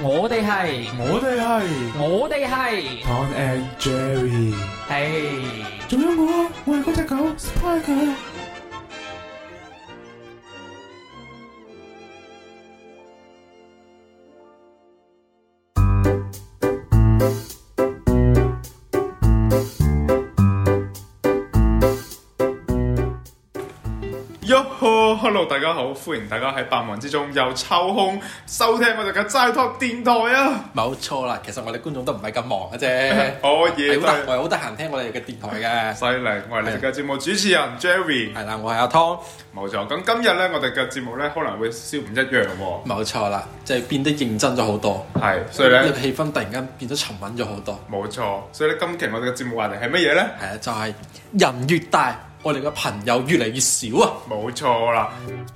我哋係 Tom and Jerry， 係仲有我係嗰隻狗 Spider。 Hello， 大家好，歡迎大家喺百忙之中又抽空收聽我哋嘅齋 talk 電台啊！ 冇錯啦，其實我哋觀眾都唔係咁忙嘅啫， 可以， 我係好得閒聽我哋嘅電台嘅。 犀利，我係你哋嘅節目主持人 Jerry。 係啦，我係阿湯。 冇錯，咁今日咧，我哋嘅節目咧可能會少唔一樣喎。 冇錯啦，即係變得認真咗好多。 係，所以咧氣氛突然間變咗沉穩咗好多。 冇錯，所以咧今期我哋嘅節目話題係乜嘢咧？ 係啊，就係人越大，我哋嘅朋友越嚟越少啊！ 冇錯啦，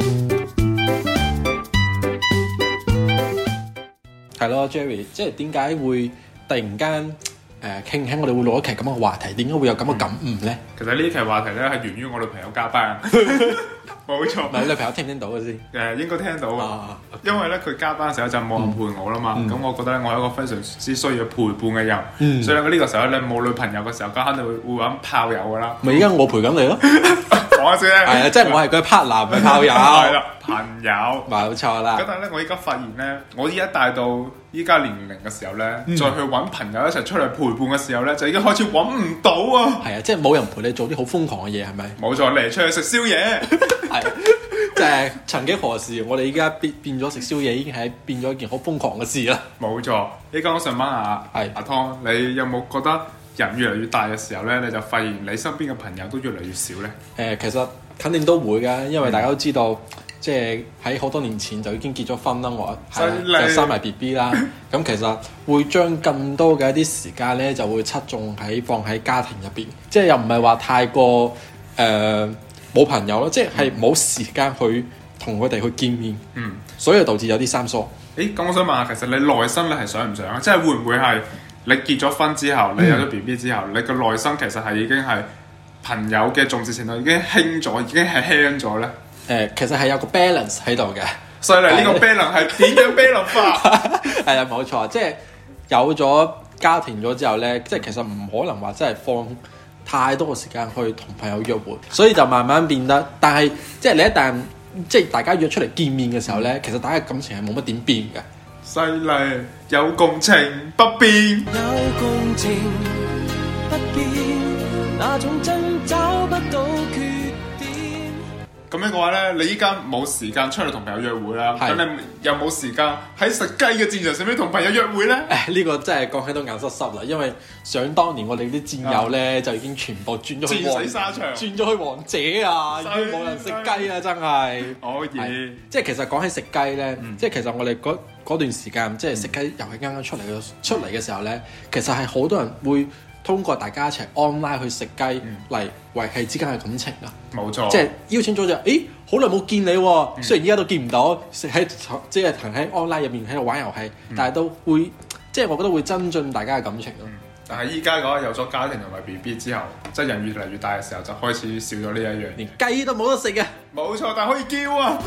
係咯 ，Jerry， 即係點解會突然間傾起我哋會錄一期咁嘅話題？點解會有咁嘅感悟咧？ 其實呢期話題咧係源於我女朋友加班。冇錯， 唔係你女朋友聽唔聽到嘅先？ 應該聽到啊，因為咧佢加班嘅時候就冇人陪我啦嘛，咁我覺得咧我係一個非常之需要陪伴嘅人，所以咧呢個時候咧冇女朋友嘅時候，咁肯定會揾炮友噶啦。 咪而家我陪緊你咯， 講下先。係啊，即係我係佢 partner 唔係炮友。 係啦，朋友。 冇錯啦。 咁但係咧，我依家發現咧，我依家大到依家年齡嘅時候咧，再去揾朋友一齊出嚟陪伴嘅時候咧，就已經開始揾唔到啊！ 係啊，即係冇人陪你做啲好瘋狂嘅嘢，係咪？ 冇錯，嚟出去食宵夜。 係，即係曾幾何時，我哋依家變咗食宵夜，已經係變咗一件好瘋狂嘅事啦。 冇錯，依家我想問下阿湯，你有冇覺得人越嚟越大嘅時候咧，你就發現你身邊嘅朋友都越嚟越少咧？ 其實肯定都會㗎，因為大家都知道，即係喺好多年前就已經結咗婚啦，我就生埋 BB 啦。咁其實會將更多嘅一啲時間咧，就會側重放喺家庭入邊，即係又唔係話太過冇朋友咯，即係冇時間去同佢哋去見面，所以導致有啲生疏。 咁我想問下，其實你內心你係想唔想啊？即係會唔會係你結咗婚之後，你有咗 BB 之後，你個內心其實係已經係朋友嘅重視程度已經輕咗，已經係輕咗咧？ 其實係有個 balance 喺度嘅。 所以呢個 balance 係點樣 balance 法？ 係啊，冇錯，即係有咗家庭咗之後咧，即係其實唔可能話真係放太多嘅時間去同朋友約會，所以就慢慢變得。但係即係你一旦即係大家約出嚟見面嘅時候咧，其實大家感情係冇乜點變嘅。 犀利，有共情不變， 有共情不變，那種真找不到缺點。 咁樣嘅話咧，你依家冇時間出嚟同朋友約會啦，咁你有冇時間喺食雞嘅戰場上面同朋友約會咧？ 呢個真係講起都眼濕濕啦，因為想當年我哋啲戰友咧就已經全部轉咗去戰死沙場， 轉咗去王者啊，已經冇人食雞啊，真係可以。 即係其實講起食雞咧，即係其實我哋嗰段時間即係食雞遊戲啱啱出嚟嘅時候咧，其實係好多人會通過大家一齊 online 去食雞嚟維繫之間嘅感情啊！ 冇錯， 即係邀請咗就，好耐冇見你喎，雖然依家都見唔到，即係喺 online 入面喺度玩遊戲，但係都會，即係我覺得會增進大家嘅感情咯。 但係依家嘅話有咗家庭同埋 BB 之後，即係人越嚟越大嘅時候，就開始少咗呢一樣， 連雞都冇得食嘅。 冇錯，但係可以叫啊！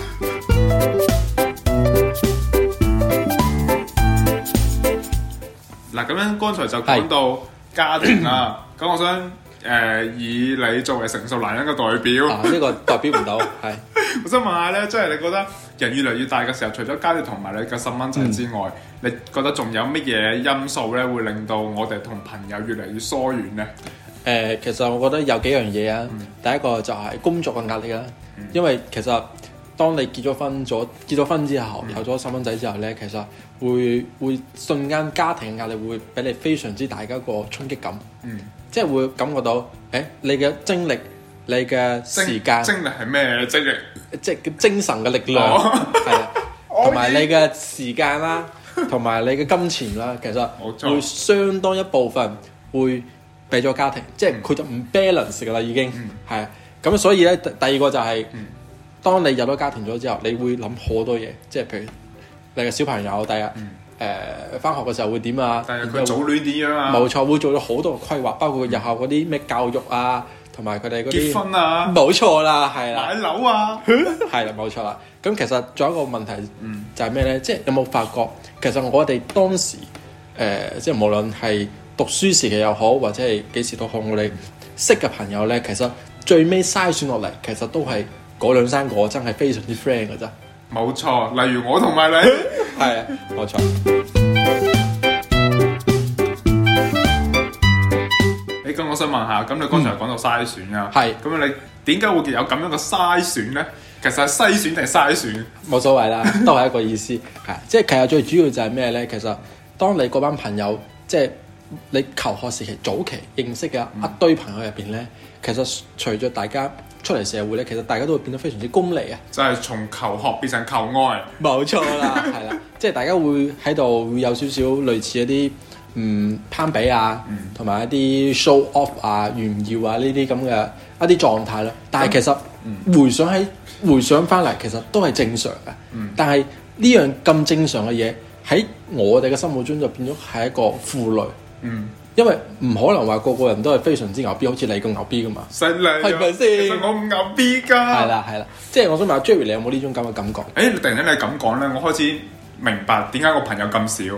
嗱，咁樣剛才就講到家庭啦，咁我想以你作為成熟男人嘅代表， 呢個代表唔到，係。 我想問下咧，即係你覺得人越嚟越大嘅時候，除咗家庭同埋你嘅細蚊仔之外，你覺得仲有乜嘢因素咧，會令到我哋同朋友越嚟越疏遠咧？ 其實我覺得有幾樣嘢啊。第一個就係工作嘅壓力啦，因為其實當你結咗婚之後，有咗細蚊仔之後咧，其實會瞬間家庭嘅壓力會俾你非常之大嘅一個衝擊感，即係會感覺到，你嘅精力、你嘅時間， 精力係咩精力？ 即係精神嘅力量，係啊，同埋你嘅時間啦，同埋你嘅金錢啦，其實會相當一部分會俾咗家庭，即係佢就唔 balance 噶啦，已經係啊。咁所以咧，第二個就係，當你有咗家庭咗之後，你會諗好多嘢，即係譬如你嘅小朋友第日返學嘅時候會點啊？ 但係佢早戀點樣啊？ 冇錯，會做咗好多嘅規劃，包括日後嗰啲咩教育啊， 同埋佢哋嗰啲結婚啊， 冇錯啦，係啦， 買樓啊， 係啦，冇錯啦。咁其實仲有一個問題就係咩咧？即係有冇發覺其實我哋當時即係無論係讀書時期又好，或者係幾時都好，我哋識嘅朋友咧，其實最尾篩選落嚟，其實都係嗰兩三個真係非常之 friend 嘅啫。 冇錯，例如我同埋你， 係啊，冇錯。 咁我想問下，咁你剛才講到篩選啊， 係咁你點解會有咁樣嘅篩選咧？其實係篩選定係篩選？ 冇所謂啦，都係一個意思。係，即係其實最主要就係咩咧？其實當你嗰班朋友，即係你求學時期早期認識嘅一堆朋友入邊咧，其實隨着大家出嚟社會咧，其實大家都會變得非常之功利啊！ 就係從求學變成求愛。 冇錯啦，係啦，即係大家會喺度會有少少類似一啲攀比啊，同埋一啲 show off 啊、炫耀啊呢啲咁嘅一啲狀態啦。但係其實回想翻嚟，其實都係正常嘅。但係呢樣咁正常嘅嘢喺我哋嘅心目中就變咗係一個負累。因為唔可能話個個人都係非常之牛逼，好似你咁牛逼噶嘛。 犀利， 係咪先？ 其實我唔牛逼㗎。 係啦，即係我想問下 Jerry，你有冇呢種咁嘅感覺？ 你突然間你咁講咧，我開始明白點解我朋友咁少。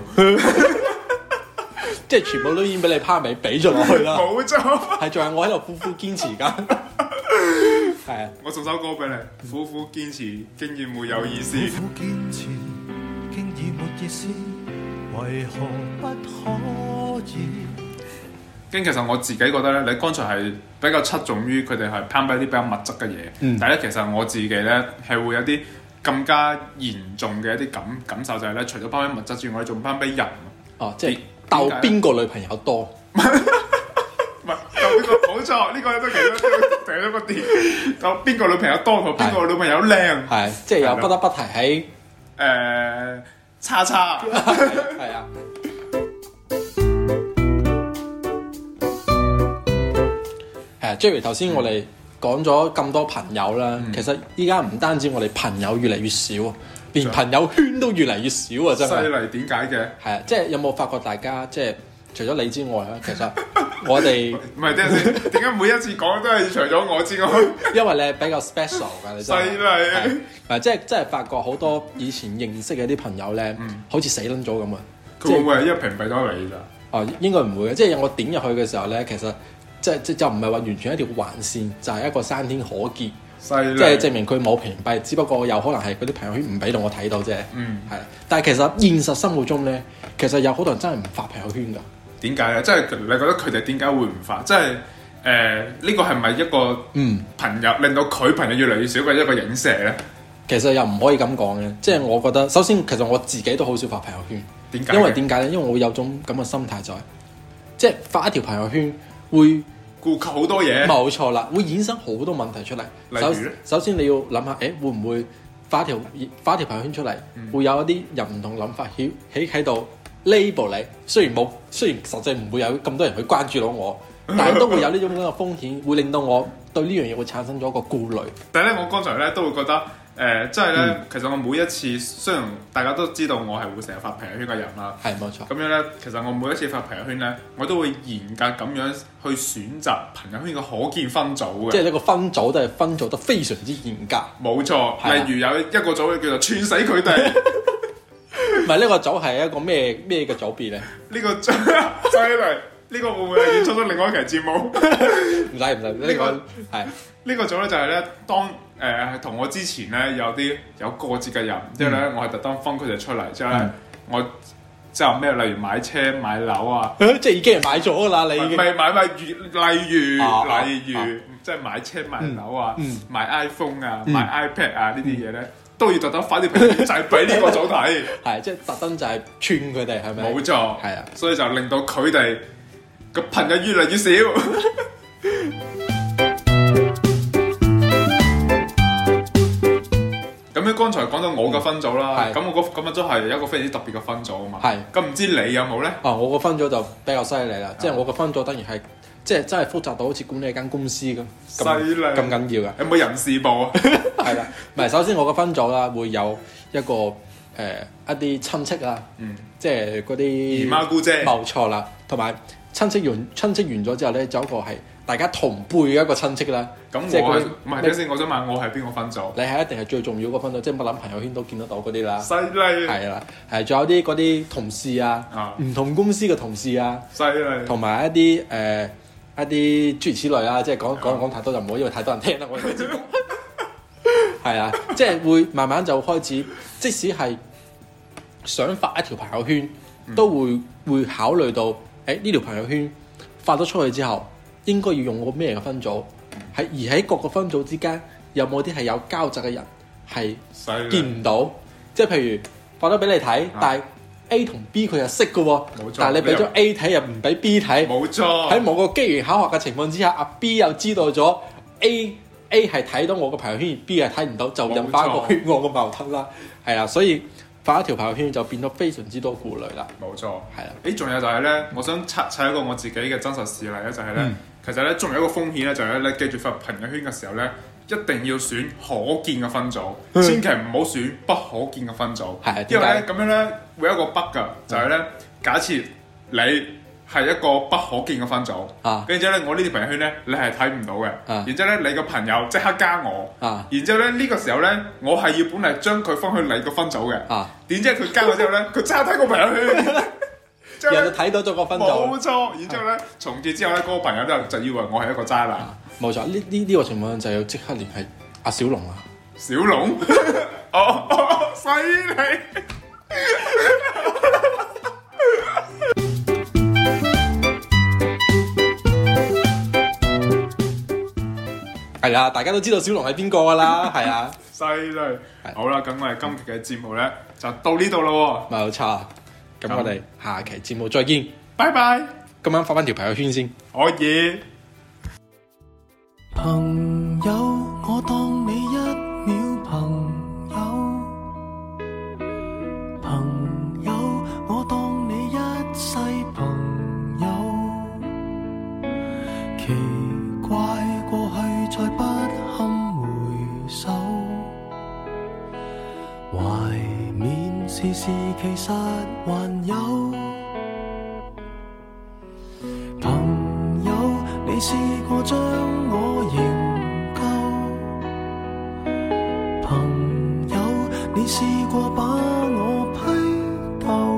即係全部都已經俾你拋尾俾咗落去啦。 冇錯， 係仲係我喺度苦苦堅持緊。係啊， 我送首歌俾你，苦苦堅持，經驗沒有意思。 苦苦堅持，經已沒意思，為何不可以？ 其實我自己覺得咧，你剛才係比較側重於佢哋係攀比啲比較物質嘅嘢，但係咧其實我自己咧係會有啲更加嚴重嘅一啲感受，就係咧除咗攀比物質之外，我哋仲攀比人。 哦，即係鬥邊個女朋友多？ 唔係鬥邊個？冇錯，呢個都其中第一個點。鬥邊個女朋友多同邊個女朋友靚？ 係，即係又不得不提喺叉叉。 係啊。Jerry 頭先我哋講咗咁多朋友啦，其實依家唔單止我哋朋友越嚟越少，連朋友圈都越嚟越少啊！真係。 犀利，點解嘅？ 係啊，即係有冇發覺大家即係除咗你之外咧，其實我哋唔係點解每一次講都係除咗我之外？ 因為你係比較 special 㗎，你真係。 犀利。 即係發覺好多以前認識嘅啲朋友咧，好似死撚咗咁啊！ 佢會唔會係一屏蔽咗你咋？ 哦，應該唔會嘅，即係我點入去嘅時候咧，其實。即就唔係話完全一條橫線，就係一個山天可見，即係證明佢冇屏蔽，只不過有可能係嗰啲朋友圈唔俾到我睇到啫。係。但係其實現實生活中咧，其實有好多人真係唔發朋友圈㗎。點解咧？ 即係你覺得佢哋點解會唔發？即係呢個係咪一個朋友令到佢朋友越嚟越少嘅一個影射咧？ 其實又唔可以咁講嘅，即係我覺得首先其實我自己都好少發朋友圈。 點解？ 因為點解咧？因為我會有種咁嘅心態就係，即係發一條朋友圈會顧及好多嘢，冇錯啦，會衍生好多問題出嚟。 例如咧， 首先你要諗下，會唔會發條朋友圈出嚟，會有一啲人唔同諗法喺度 label 你？雖然實際唔會有咁多人去關注到我，但係都會有呢種咁嘅風險，會令到我對呢樣嘢會產生咗一個顧慮。 但係咧，我剛才咧都會覺得。即係咧，其實我每一次雖然大家都知道我係會成日發朋友圈嘅人啦， 係冇錯。 咁樣咧，其實我每一次發朋友圈咧，我都會嚴格咁樣去選擇朋友圈嘅可見分組嘅。 即係呢個分組都係分組得非常之嚴格。 冇錯，例如有一個組叫做串死佢哋。 唔係呢個組係一個咩嘅組別咧？ 呢個犀利，呢個會唔會係演出咗另外一期節目？ 唔使，呢個係呢個組咧就係咧當。同我之前咧有過節嘅人，之後咧我係特登分佢哋出嚟，之後咧我之後咩例如買車買樓啊， 即係已經係買咗啦，你已經未買例如即係買車買樓啊，買 iPhone 啊，買 iPad 啊呢啲嘢咧都要特登發啲朋友圈就係俾呢個組睇， 係即係特登就係串佢哋係咪？ 冇錯， 係啊， 所以就令到佢哋個朋友越嚟越少。咁你剛才講到我嘅分組啦，咁我咁都係一個非常之特別嘅分組啊嘛。係，咁唔知你有冇咧？ 我個分組就比較犀利啦，即係我個分組等於係即係真係複雜到好似管理一間公司咁，犀利咁緊要嘅。 有冇人事部啊？ 係啦，唔係首先我個分組啦，會有一個一啲親戚啦，即係嗰啲姨媽姑姐， 冇錯啦，同埋親戚完咗之後咧，就有一個係大家同輩嘅一個親戚啦。 咁即係佢我係唔係？等先，我想問我係邊個分組？ 你係一定係最重要嗰個分組，即係乜諗朋友圈都見得到嗰啲啦。 犀利係啦，係仲有啲嗰啲同事啊，唔同公司嘅同事啊， 犀利， 同埋一啲一啲諸如此類啦。即係講太多就唔好，因為太多人聽啦。我哋嘅節目係啊，即係會慢慢就開始，即使係想發一條朋友圈，都會考慮到呢條朋友圈發咗出去之後，應該要用個咩嘅分組？而喺各個分組之間，有冇啲係有交集嘅人係見唔到？即係譬如發咗俾你睇，但係 A 同 B 佢又識嘅喎，但係你俾咗 A 睇又唔俾 B 睇， 冇錯。喺某個機緣巧合嘅情況之下，阿 B 又知道咗 A 係睇到我個朋友圈，B 係睇唔到，就引發一個血案嘅矛盾啦。係啊，所以發一條朋友圈就變到非常之多顧慮啦。 冇錯， 係啊。 仲有就係咧，我想砌一個我自己嘅真實事例咧，就係咧，其實咧仲有一個風險咧，就係咧，記住發朋友圈嘅時候咧，一定要選可見嘅分組，千祈唔好選不可見嘅分組。 係， 因為咧咁樣咧會有一個 bug 㗎，就係咧，假設你係一個不可見嘅分組，跟住咧我呢條朋友圈咧你係睇唔到嘅，然之後咧你個朋友即刻加我，然之後咧呢個時候咧我係要本嚟將佢放去你個分組嘅，點知佢加咗之後咧佢即刻睇個朋友圈。 人就睇到咗個分組， 冇錯。然之後咧，從此之後咧，嗰個朋友就以為我係一個渣男。 冇錯，呢個情況就要即刻聯繫阿小龍啦。 小龍，犀利！ 係啦，大家都知道小龍係邊個噶啦，係啊， 犀利。好啦，咁我哋今期嘅節目咧就到呢度咯。 冇錯。咁我哋下期節目再見， 拜拜。 今晚發翻條朋友圈先， 可以。 朋友，我當你一秒朋友；朋友，我當你一世朋友。奇怪，過去再不堪回首，懷緬時事其實還有。朋友，你試過將我營救？朋友，你試過把我批鬥？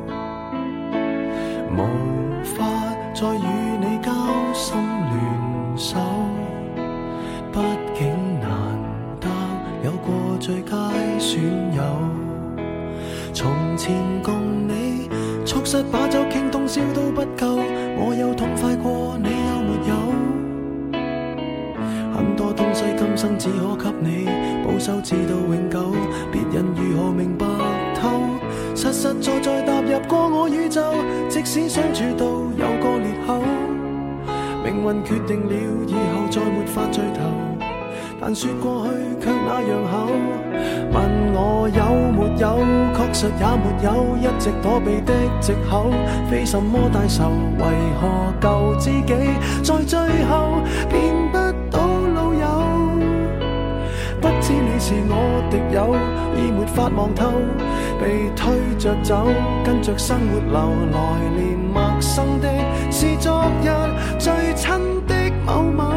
無法再與你交心聯手，畢竟難得有過最佳損友。從前共你促膝把酒傾通宵都不夠，我有痛快過你有沒有？很多東西今生只可給你保守至到永久，別人如何明白透？實實在在踏入過我宇宙，即使相處到有個裂口，命運決定了以後再沒法聚頭，但說過去卻那樣厚。問我有沒有，確實也沒有，一直躲避的藉口，非什麼大仇，為何舊知己在最後變不到老友？不知你是我敵友，已沒法望透，被推着走，跟着生活流，來年陌生的是昨日最親的某某。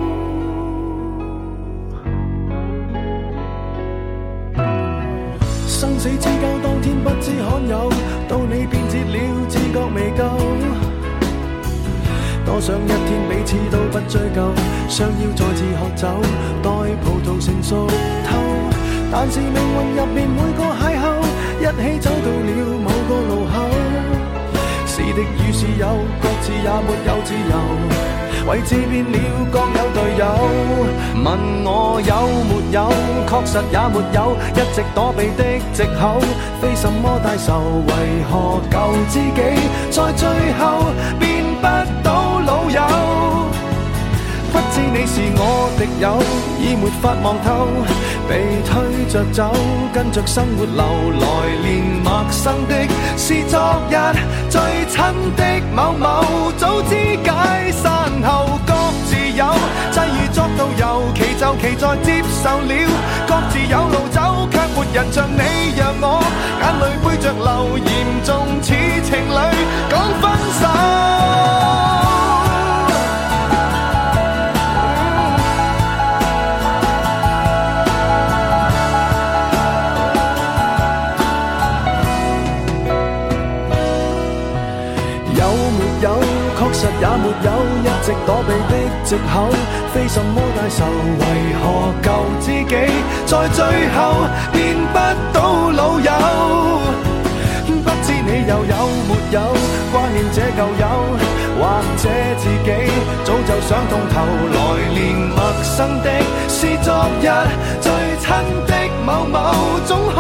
生死之交當天不知罕有，到你變節了自覺未夠，多想一天彼此都不追究，想要再次喝酒，待葡萄成熟透。但是命運入面每個邂逅，一起走到了某個路口，是敵與是友，各自也沒有自由，位置變了各有隊友。問我有沒有，確實也沒有，一直躲避的藉口，非什麼大仇，為何舊知己在最後變不到老友？不知你是我敵友，已沒法望透，被推着走，跟着生活流，來年陌生的是昨日最親的某某，早知解散後各自有，際遇作導遊，其就其在接受了，各自有路走，卻沒人像你讓我眼淚背着流，嚴重似情侶講分手。 有，確實也沒有一直躲避的藉口，非什麼大仇，為何舊知己在最後變不到老友？不知你又有沒有掛念這舊友，或者自己早就想通透，來年陌生的是昨日最親的某某，總